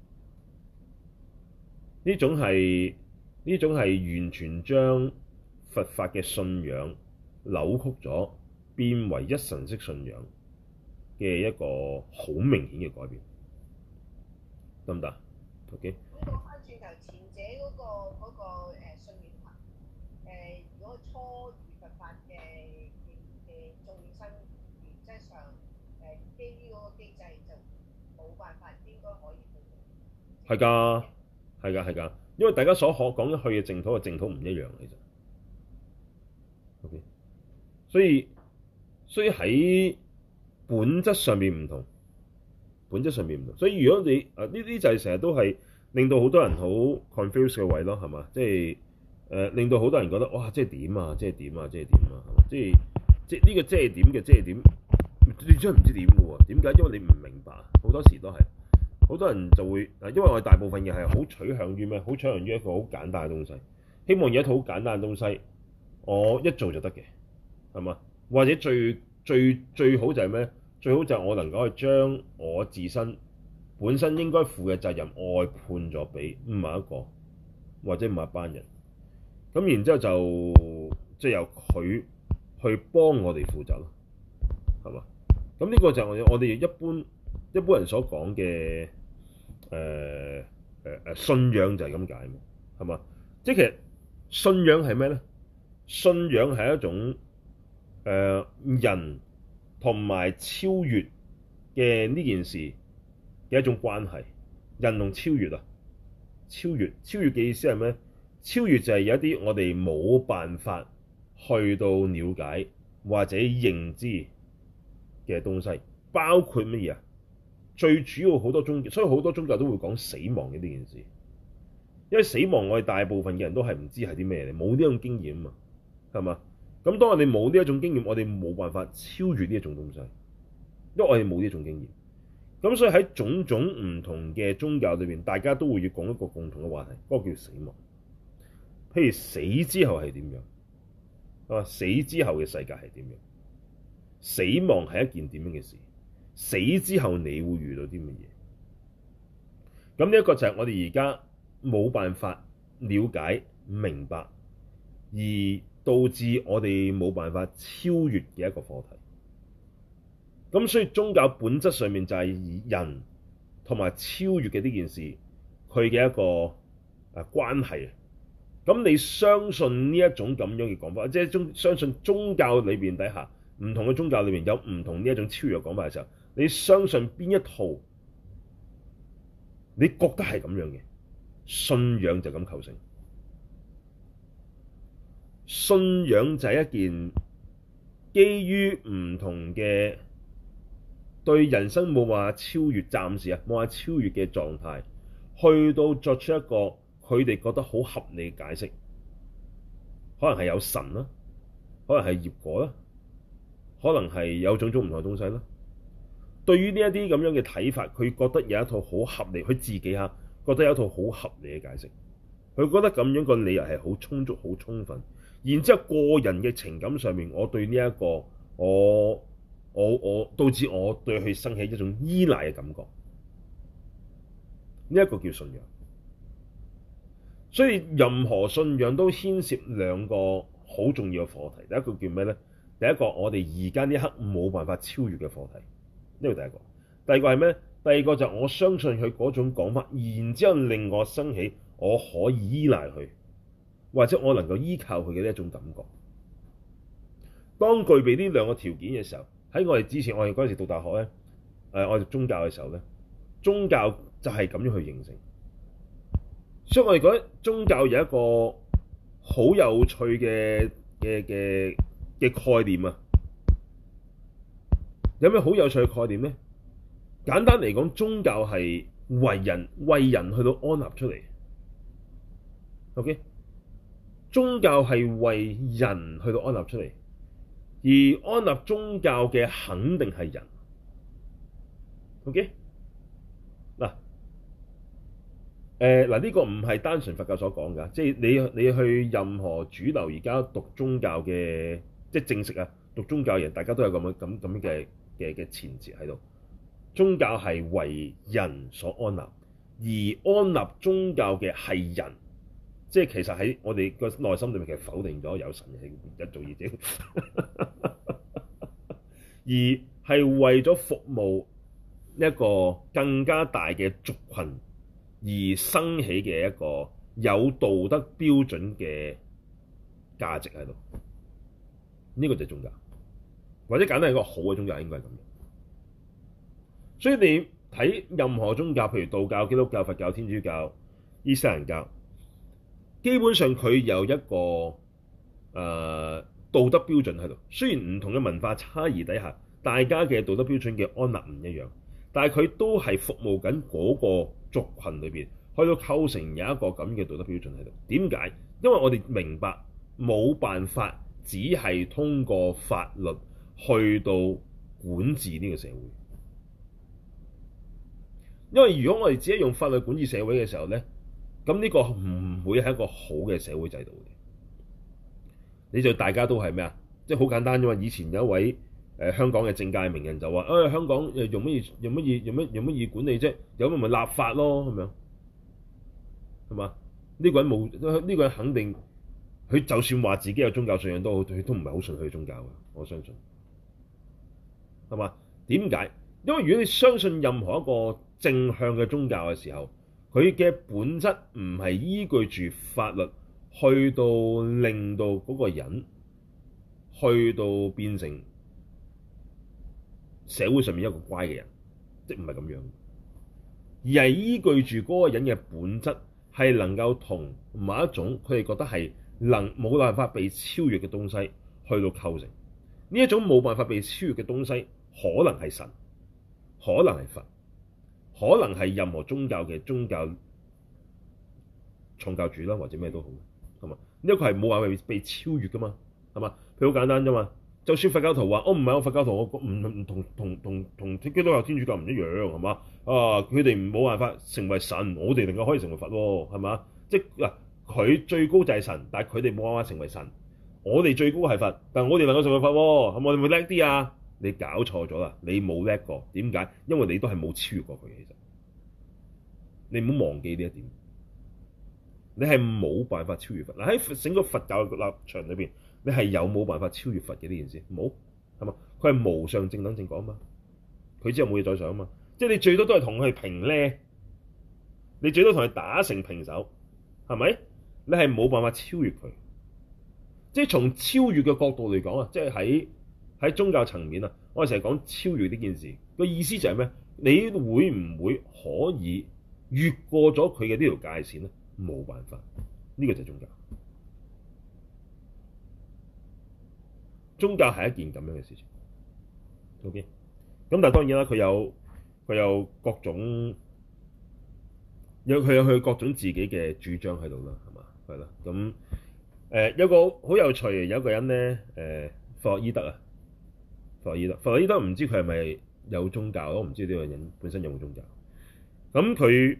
S1: 呢種係完全將佛法嘅信仰扭曲咗，變為一神式信仰嘅一個好明顯嘅改變，得唔得 ？OK。
S2: 咁講翻轉頭，前者嗰個信願行，如果初遇佛法嘅眾生，原則上基於嗰個機制就冇辦法，應該可以去到。
S1: 係㗎。係㗎，因為大家所講去嘅淨土唔一樣其實。OK，所以喺本質上面唔同，所以如果你呢啲就係成日都係令到好多人好 confuse 嘅位咯，係嘛？即係令到好多人覺得哇，即係點啊？即係點啊？即係呢個即係點嘅即係點？你真係唔知點嘅喎？點解？因為你唔明白，好多時都係。好多人就會因為我哋大部分嘢係好取向於咩？好取向於一個好簡單嘅東西，希望有一套好簡單嘅東西，我一做就得嘅，係嘛？或者最好就係咩？最好就係我能夠去將我自身本身應該負嘅責任外判咗俾某一個或者某一班人，咁然之後就即係由佢去幫我哋負責咯，係嘛？咁呢個就係我哋一般人所講嘅。信仰就係咁解，係嘛？即係其實信仰係咩咧？信仰係一種人同埋超越嘅呢件事嘅一種關係。人同超越啊，超越嘅意思係咩？超越就係有一啲我哋冇辦法去到了解或者認知嘅東西，包括乜嘢啊？最主要好多宗教，所以好多宗教都會講死亡嘅呢件事，因為死亡我哋大部分嘅人都係唔知係啲咩嚟，冇呢種經驗啊嘛，係嘛？咁當我哋冇呢一種經驗，我哋冇辦法超越呢一種東西，因為我哋冇呢一種經驗。咁所以喺種種唔同嘅宗教裏邊，大家都會要講一個共同嘅話題，嗰個叫死亡。譬如死之後係點樣？啊，死之後嘅世界係點樣？死亡係一件點樣嘅事？死之後你會遇到啲乜嘢？咁呢一個就係我哋而家冇辦法了解明白，而導致我哋冇辦法超越嘅一個課題。咁所以宗教本質上面就係人同埋超越嘅呢件事，佢嘅一個關係。咁你相信呢一種咁樣嘅講法，即係相信宗教裏邊底下唔同嘅宗教裏邊有唔同呢一種超越嘅講法嘅時候，你相信邊一套？你覺得係咁樣嘅信仰就咁構成。信仰就係一件基於唔同嘅對人生冇話超越，暫時冇話超越嘅狀態，去到作出一個佢哋覺得好合理嘅解釋，可能係有神啦，可能係業果啦，可能係有種種唔同嘅東西啦。對於呢一啲咁樣嘅睇法，佢覺得有一套好合理，佢自己覺得有一套好合理嘅解釋，佢覺得咁樣個理由係好充足、好充分。然之後個人嘅情感上面，我對呢一個我導致我對佢生起一種依賴嘅感覺，呢一個叫信仰。所以任何信仰都牽涉兩個好重要嘅課題，第一個叫咩咧？ 第一個我哋而家呢一刻冇辦法超越嘅課題，呢個第一個。第二個係咩？第二個就我相信佢嗰種講法，然之後令我生起我可以依賴佢，或者我能夠依靠佢嘅呢一種感覺。當具備呢兩個條件嘅時候，喺我哋之前，我哋嗰陣時讀大學咧，我哋讀宗教嘅時候咧，宗教就係咁樣去形成。所以我哋覺得宗教有一個好有趣嘅概念啊！有咩好有趣嘅概念咧？簡單嚟講，宗教係為人去到安立出嚟。OK， 宗教係為人去到安立出嚟，而安立宗教嘅肯定係人。OK， 嗱。呢個唔係單純佛教所講㗎，即係你去任何主流而家讀宗教嘅，即係正式啊讀宗教嘅人，大家都有咁樣嘅前設喺度。宗教係為人所安立，而安立宗教嘅係人，即係其實喺我哋個內心裏面其實否定咗有神係一做二者，而係為咗服務一個更加大嘅族群而生起嘅一個有道德標準嘅價值喺度，呢個就係宗教，或者簡單係一個好嘅宗教應該係咁樣。所以你睇任何宗教，譬如道教、基督教、佛教、天主教、伊斯蘭教，基本上佢有一個道德標準喺度。雖然唔同嘅文化差異底下，大家嘅道德標準嘅安立唔一樣，但係佢都係服務緊嗰個族群裏邊，去到構成有一個咁嘅道德標準喺度。點解？因為我哋明白冇辦法只係通過法律去到管治呢個社會。因為如果我哋只係用法律管治社會嘅時候咧，咁呢個唔會係一個好嘅社會制度嘅。你就大家都係咩啊？即係好簡單啫嘛。以前有一位香港嘅政界名人就話：香港用乜嘢管理啫？有咪立法咯咁樣，係嘛？呢個人冇呢個人肯定，佢就算話自己有宗教信仰都好，佢都唔係好信佢宗教嘅。我相信係嘛？點解？因為如果你相信任何一個正向嘅宗教嘅時候，佢嘅本質唔係依據住法律去到令到嗰個人去到變成社會上面一個乖嘅人，即唔係咁樣，而係依據住嗰個人嘅本質係能夠同某一種佢哋覺得係冇辦法被超越嘅東西去到構成。呢一種冇辦法被超越嘅東西，可能係神，可能係佛，可能係任何宗教嘅宗教創教主啦，或者咩都好，係嘛？呢一個係冇辦法被超越噶嘛，係嘛？佢好簡單啫嘛。就算佛教徒話：我唔係我佛教徒，我唔同基督教、天主教唔一樣，係嘛？佢哋冇辦法成為神，我哋能夠可以成為佛喎，係嘛？即係嗱，佢最高就係神，但係佢哋冇辦法成為神。我哋最高係佛，但係我哋能夠成為佛喎，係咪我哋會叻啲啊？你搞錯咗啦！你冇叻過，點解？因為你都係冇超越過佢。其實你唔好忘記呢一點，你係冇辦法超越佛。嗱，喺整個佛教嘅立場裏邊，你係有冇辦法超越佛嘅呢件事？冇，係嘛？佢係無上正等正覺啊嘛，佢之後冇嘢再上啊嘛。即係你最多都係同佢平咧，你最多同佢打成平手，係咪？你係冇辦法超越佢。即係從超越嘅角度嚟講啊，即係喺宗教層面啊，我哋成日講超越呢件事，個意思就係咩？你會唔會可以越過咗佢嘅呢條界線咧？冇辦法，呢個就係宗教。宗教係一件咁樣嘅事情。OK，咁但係當然啦，佢有各種佢有各種自己嘅主張喺度啦，係嘛？係啦，咁有個好有趣嘅，有一個人咧，弗洛伊德啊。弗洛伊德唔知佢係咪有宗教，我唔知呢個人本身有冇宗教。咁佢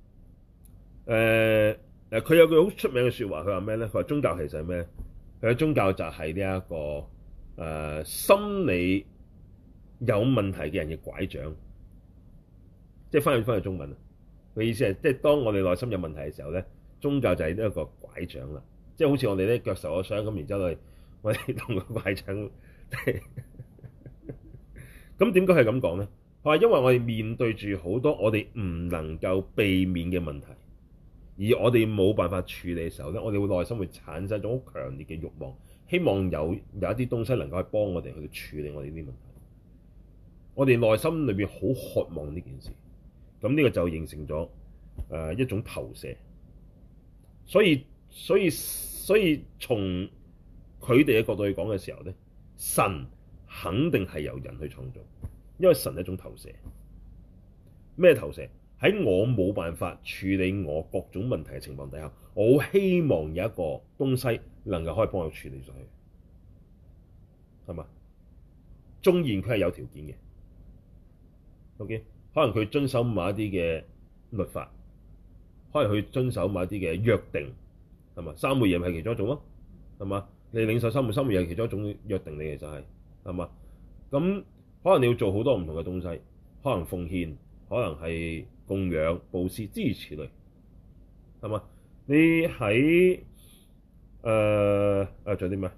S1: 佢有句好出名嘅説話，佢話咩咧？佢話宗教其實係咩？佢嘅宗教就係呢一個心理有問題嘅人嘅拐杖，即係翻譯中文啊。佢意思係即係當我哋內心有問題嘅時候咧，宗教就係呢一個拐杖啦。即係好似我哋咧腳受咗傷咁，然之後我哋同個拐杖咁點解係咁講咧？佢話因為我哋面對住好多我哋唔能夠避免嘅問題，而我哋冇辦法處理嘅時候咧，我哋會內心會產生一種好強烈嘅慾望，希望有一啲東西能夠去幫我哋去處理我哋呢啲問題。我哋內心裏邊好渴望呢件事，咁呢個就形成咗一種投射。所以從佢哋嘅角度去講嘅時候咧，神肯定係由人去創造，因為神係一種投射。咩投射？喺我冇辦法處理我各種問題嘅情況底下，我好希望有一個東西能夠可以幫我處理咗佢，係嘛？縱然佢係有條件嘅，OK， 可能佢遵守某一啲嘅律法，可能佢遵守某一啲嘅約定，係嘛？三昧耶係其中一種咯，係嘛？你領受三昧係其中一種約定嚟嘅就係嘛？咁可能你要做好多唔同嘅東西，可能奉獻，可能係供養、布施諸如此類，係嘛？你喺仲有啲咩？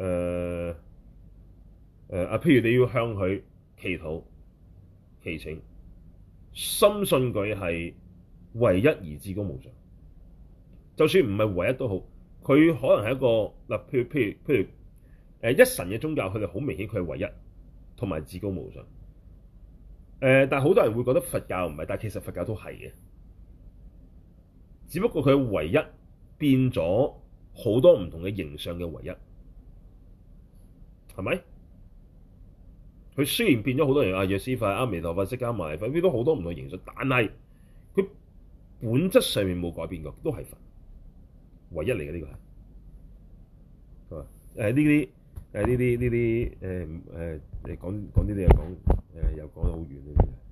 S1: 譬如你要向佢祈禱、祈請，深信佢係唯一而至高無上。就算唔係唯一都好，佢可能係一個嗱，譬如一神嘅宗教，佢哋好明顯佢係唯一同埋至高無上。但係好多人會覺得佛教唔係，但係其實佛教都係嘅，只不過佢唯一變咗好多唔同嘅形象嘅唯一，係咪？佢雖然變咗好多人，藥師佛、阿彌陀佛、釋迦牟尼佛，變咗好多唔同嘅形象，但係佢本質上面冇改變過，都係佛，唯一嚟嘅呢個係，係嘛？你講呢啲又講又講得好遠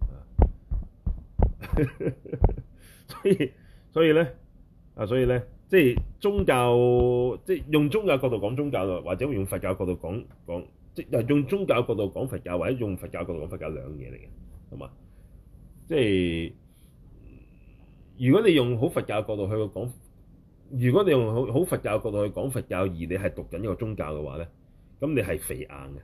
S1: 所以咧，即係宗教，即係用宗教角度講宗教，或者用佛教角度講，即係用宗教角度講佛教，或者用佛教角度講佛教，兩樣嘢嚟嘅，係嘛？即係如果你用好佛教角度去講，如果你用好佛教角度去講佛教，而你係讀緊一個宗教嘅話咧，咁你係肥硬嘅。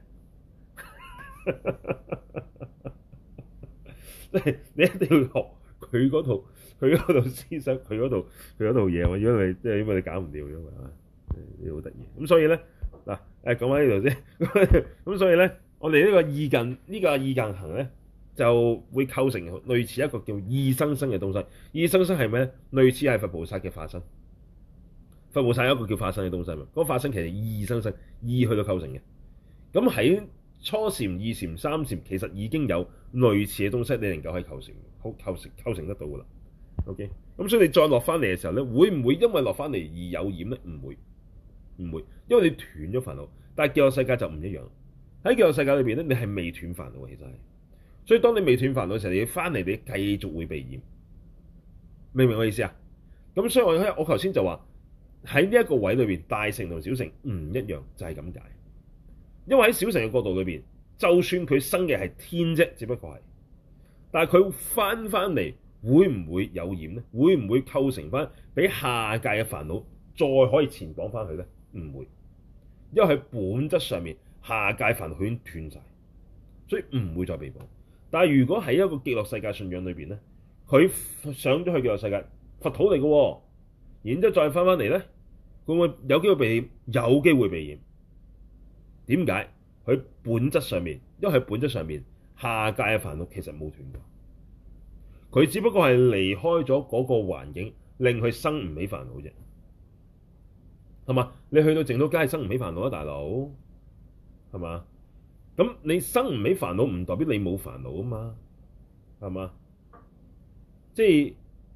S1: 即係你一定要學佢嗰套思想，佢嗰套嘢喎。如果你即係因為你搞唔掂，因為你好得意。咁所以咧嗱，講翻呢度先。咁所以咧，我哋呢個意近行咧，就會構成類似一個叫意生生嘅東西。意生生係咩咧？類似係佛菩薩嘅化身。佛菩薩有一個叫化身嘅東西嘛。嗰個化身其實意生生，意去到構成嘅。咁喺初禪、二禪、三禪，其實已經有類似嘅東西，你能夠可以構成得到噶啦。OK， 咁所以你再落翻嚟嘅時候咧，會唔會因為落翻嚟而有染咧？唔會，因為你斷咗煩惱。但係極樂世界就唔一樣。喺極樂世界裏邊咧，你係未斷煩惱，其實係。所以當你未斷煩惱嘅時候，你翻嚟你繼續會被染。明唔明我意思啊？咁所以我頭先就話喺呢一個位裏邊，大乘同小乘唔一樣，就係咁解。因為喺小乘嘅角度裏邊，就算佢生嘅係天啫，只不過係，但係佢翻嚟會唔會有染咧？會唔會構成翻俾下界嘅煩惱再可以纏綁翻佢咧？唔會，因為喺本質上面下界煩惱已經斷晒，所以唔會再被綁。但係如果喺一個極樂世界信仰裏邊咧，佢上咗去極樂世界佛土嚟嘅，然之後再翻嚟咧，會唔會有機會被染？有機會被染。點解？佢本質上面，因為佢本質上面下界嘅煩惱其實冇斷過，佢只不過係離開咗嗰個環境，令佢生唔起煩惱啫。係嘛？你去到淨土梗係生唔起煩惱啊，大佬，係嘛？咁你生唔起煩惱唔代表你冇煩惱啊嘛，係嘛？即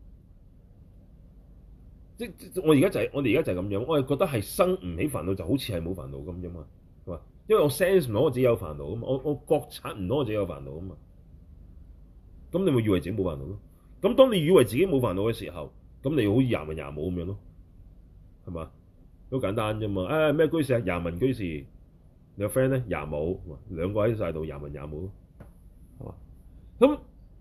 S1: 我哋而家就係咁樣，我係覺得係生唔起煩惱就好似係冇煩惱咁啫嘛。係嘛？因為我 sense 唔到我自己有煩惱啊嘛，我覺察唔到我自己有煩惱啊嘛。咁你咪以為自己冇煩惱咯？咁當你以為自己冇煩惱嘅時候，咁你好似廿文廿武咁樣咯，係嘛？好簡單啫嘛。咩居士啊？廿文居士，你個 friend 咧廿武，兩個喺晒度廿文廿武咯，係嘛？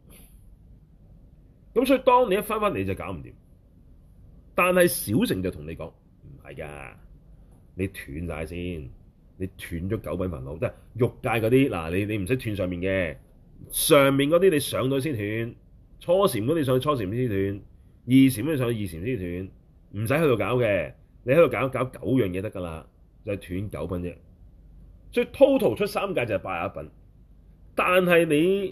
S1: 咁所以當你一翻嚟就搞唔掂。但係小乘就同你講唔係㗎，你斷晒先。 你斷咗九品煩惱，即係欲界嗰啲嗱，你唔使斷上面嘅，上面嗰啲你上到先斷，初禪嗰啲上去初禪先斷，二禪嗰啲上去二禪先斷，唔使喺度搞嘅，你喺度搞九樣嘢得㗎啦，就係斷九品啫。所以 total 出三界就係81品，但係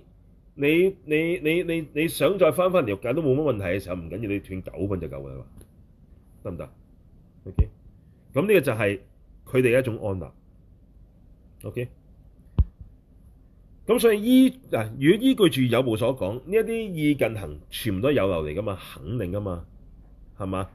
S1: 你想再翻嚟欲界都冇乜問題嘅時候，唔緊要，你斷九品就夠㗎啦，得唔得 ？OK，咁呢個就係佢哋嘅一種安立。OK，咁所以如果依據住有部所講，呢一啲意近行全部都係有漏嚟㗎嘛，肯定㗎嘛，係嘛？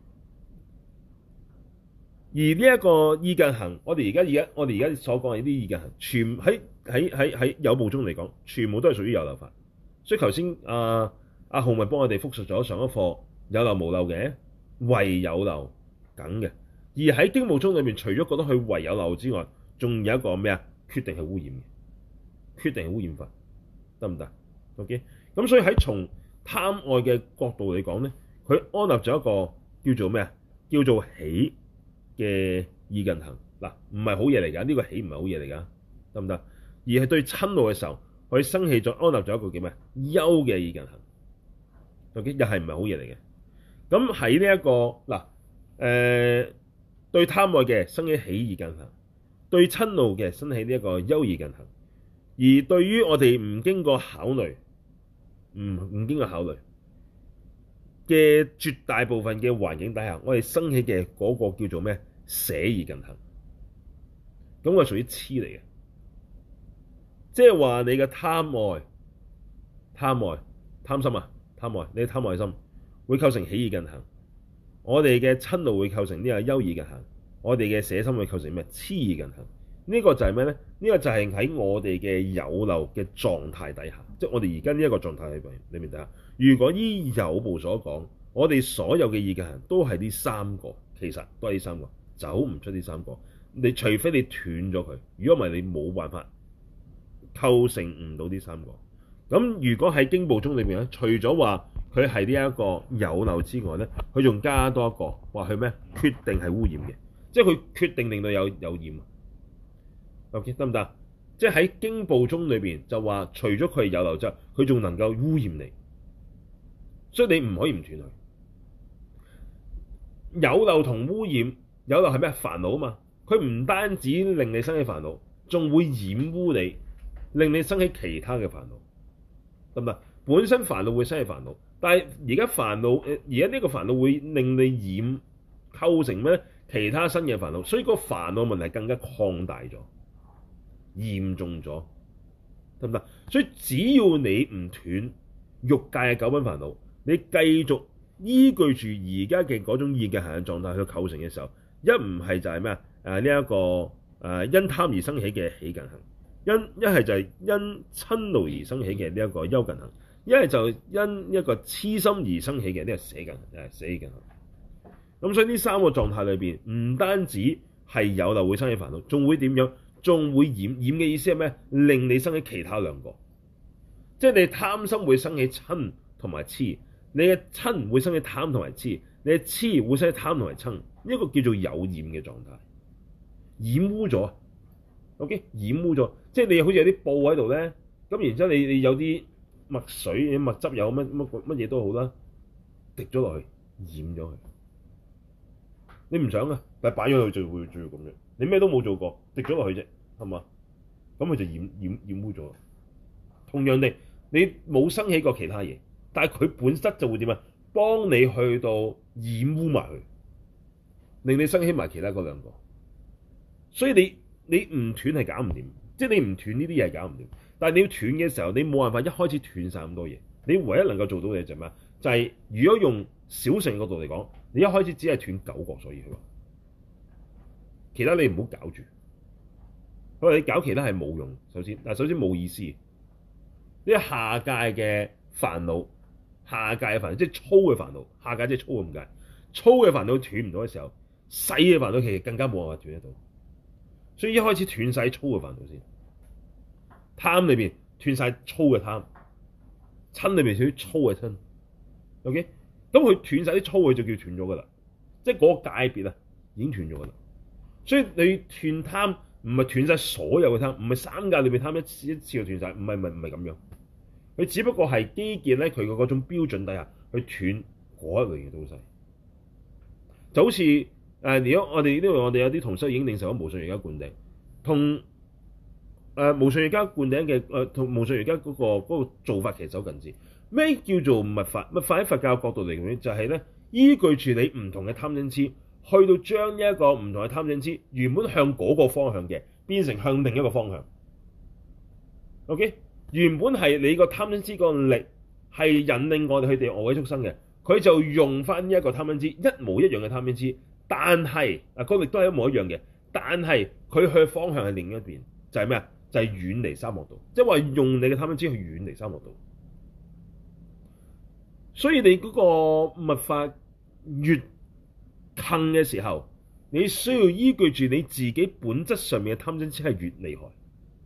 S1: 而呢一個意近行，我哋而家所講嘅呢啲意近行，全喺有部中嚟講，全部都係屬於有漏法。所以頭先阿浩咪幫我哋復述咗上一課有漏無漏嘅，唯有漏梗嘅。而喺經部中裏面，除咗覺得佢唯有漏之外，仲有一個咩啊？決定係污染嘅，決定係污染法，得唔得 ？OK，咁所以喺從貪愛嘅角度嚟講咧，佢安立咗一個叫做咩啊？叫做喜嘅意近行嗱，唔係好嘢嚟㗎，呢個喜唔係好嘢嚟㗎，得唔得？而係對瞋怒嘅時候，佢生起咗安立咗一個叫咩？憂嘅意近行，OK，又係唔係好嘢嚟嘅？咁喺呢一個對貪愛嘅生起喜意近行，對瞋怒嘅生起呢一個憂意近行，而對於我哋唔經過考慮，唔經過考慮嘅絕大部分嘅環境底下，我哋生起嘅嗰個叫做咩？捨意近行，咁個屬於痴嚟嘅，即係話你嘅貪心啊，貪愛，你嘅貪愛心會構成喜意近行，我哋嘅瞋怒會構成呢個憂意近行，我哋嘅捨心會構成咩？痴意近行。呢個就係咩咧？呢個就係喺我哋嘅有漏嘅狀態底下，即係我哋而家呢一個狀態裏面底下。如果依有部所講，我哋所有嘅意近行都係呢三個，其實都係呢三個，走唔出呢三個。你除非你斷咗佢，如果唔係你冇辦法構成唔到呢三個。咁如果喺經部中裏面咧，除咗話佢係呢一個有漏之外咧，佢仲加多一個話佢咩？決定係污染嘅，即係佢決定令到有染。OK， 得唔得？即係喺經部中裏邊就話，除咗佢係有漏之外，佢仲能夠污染你，所以你唔可以唔斷佢。有漏同污染，有漏係咩？煩惱啊嘛，佢唔單止令你生起煩惱，仲會染污你，令你生起其他嘅煩惱，得唔得？本身煩惱會生起煩惱，但係而家呢個煩惱會令你染構成咩？其他新嘅煩惱，所以個煩惱問題更加擴大咗。嚴重咗，得唔得？所以只要你唔斷欲界嘅九品煩惱，你繼續依據住而家嘅嗰種意近行嘅狀態去構成嘅時候，一唔係就係咩啊？呢一個因貪而生起嘅喜近行，一係就係因瞋怒而生起嘅呢一個憂近行，一係就因一個痴心而生起嘅呢個捨近行，捨意近行。咁所以呢三個狀態裏邊，唔單止係有漏會生起煩惱，仲會點樣？仲會染嘅意思係咩？令你生起其他兩個，即係你貪心會生起瞋同埋痴，你嘅瞋會生起貪同埋痴，你嘅痴會生起貪同埋瞋，呢一個叫做有染嘅狀態，染污咗。OK， 染污咗，即係你好似有啲布喺度咧，咁然之後你有啲墨水、墨汁有乜嘢都好啦，滴咗落去，染咗佢。你唔想啊，但係擺咗佢就會咁樣。你咩都冇做過，滴咗落去啫，係嘛？咁佢就染污咗。同樣地，你冇生起過其他嘢，但係佢本質就會點啊？幫你去到染污埋佢，令你生起埋其他嗰兩個。所以你唔斷係搞唔掂，即係你唔斷呢啲嘢係搞唔掂。但係你要斷嘅時候，你冇辦法一開始斷晒咁多嘢。你唯一能夠做到嘅就係咩？就係如果用小乘角度嚟講，你一開始只係斷9個，所以佢話。其他你唔好搞住，佢話你搞其他係冇用。首先冇意思。呢啲下界嘅煩惱，即係粗嘅煩惱，下界即係粗咁解。粗嘅煩惱斷唔到嘅時候，細嘅煩惱其實更加冇辦法斷得到。所以一開始斷晒粗嘅煩惱先。貪裏邊斷晒粗嘅貪，瞋裏邊少啲粗嘅瞋。OK， 咁佢斷晒啲粗嘅就叫斷咗噶啦，即係嗰個界別啊已經斷咗噶啦。所以你斷貪唔係斷晒所有嘅貪，唔係三界裏邊貪一次就斷晒，唔係咁樣。佢只不過係基建咧，佢嘅嗰種標準底下去斷嗰一類嘅東西，就好似如果我哋呢度我哋有啲同修已經領受咗無上瑜伽灌頂，同無上瑜伽灌頂嘅同無上瑜伽嗰個做法其實好近似。咩叫做密法？密法喺佛教角度嚟講，就係咧依據住你唔同嘅貪嗔痴，去到將呢一個唔同嘅貪嗔痴原本向嗰個方向嘅，變成向另一個方向。OK。原本係你個貪嗔痴個力係引領我哋去地惡鬼畜生嘅，佢就用翻呢一個貪嗔痴一模一樣嘅貪嗔痴，但係個力都係一模一樣嘅，但係佢去方向係另一邊，就係咩啊？就係遠離三惡道，即係話用你嘅貪嗔痴去遠離三惡道。所以你嗰個密法越近嘅時候，你需要依據住你自己本質上面嘅貪嗔痴係越厲害。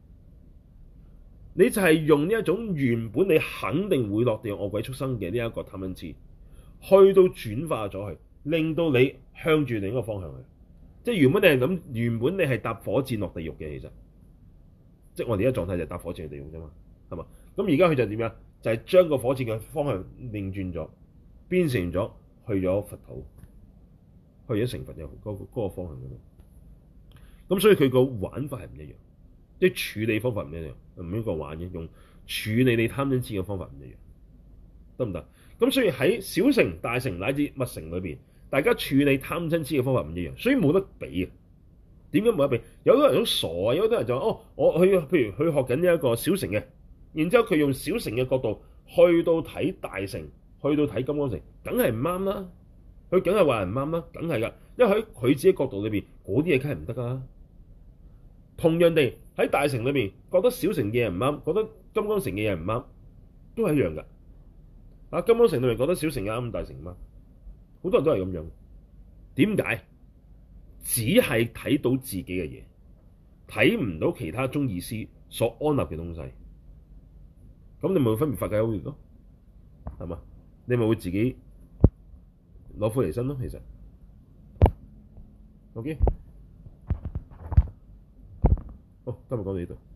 S1: 你就係用呢一種原本你肯定會落地惡鬼畜生嘅呢一個貪嗔痴，去到轉化咗佢，令到你向住另一個方向去。即係原本你係諗，原本你係搭火箭落地獄嘅，其實，即係我哋而家狀態就係搭火箭去地獄啫嘛，係嘛？咁而家佢就點樣？就係將個火箭嘅方向擰轉咗，變成咗去咗佛土，去咗成佛嘅嗰個方向嗰度。咁所以佢個玩法係唔一樣。即係處理方法唔一樣，唔應該玩嘅，用處理你貪嗔痴嘅方法唔一樣，得唔得？咁所以喺小乘、大乘乃至密乘裏邊，大家處理貪嗔痴嘅方法唔一樣，所以冇得比嘅。點解冇得比？有啲人好傻啊，有啲人就話哦，我去譬如佢學緊呢一個小乘嘅，然之後佢用小乘嘅角度去到睇大乘，去到睇金剛乘，梗係唔啱啦。佢梗係話人唔啱啦，梗係㗎，因為喺佢自己角度裏邊，嗰啲嘢梗係唔得㗎。同樣地喺大乘裏面覺得小乘嘅嘢唔啱，覺得金剛乘嘅嘢唔啱，都係一樣㗎。金剛乘裏面覺得小乘嘅啱，大乘唔啱，好多人都係咁樣。點解？只係睇到自己嘅嘢，睇唔到其他宗義師所安立嘅東西。咁你咪會分別法界優劣咯，係嘛？你咪會自己攞苦嚟辛咯，其實。OK。好，今日講到呢度。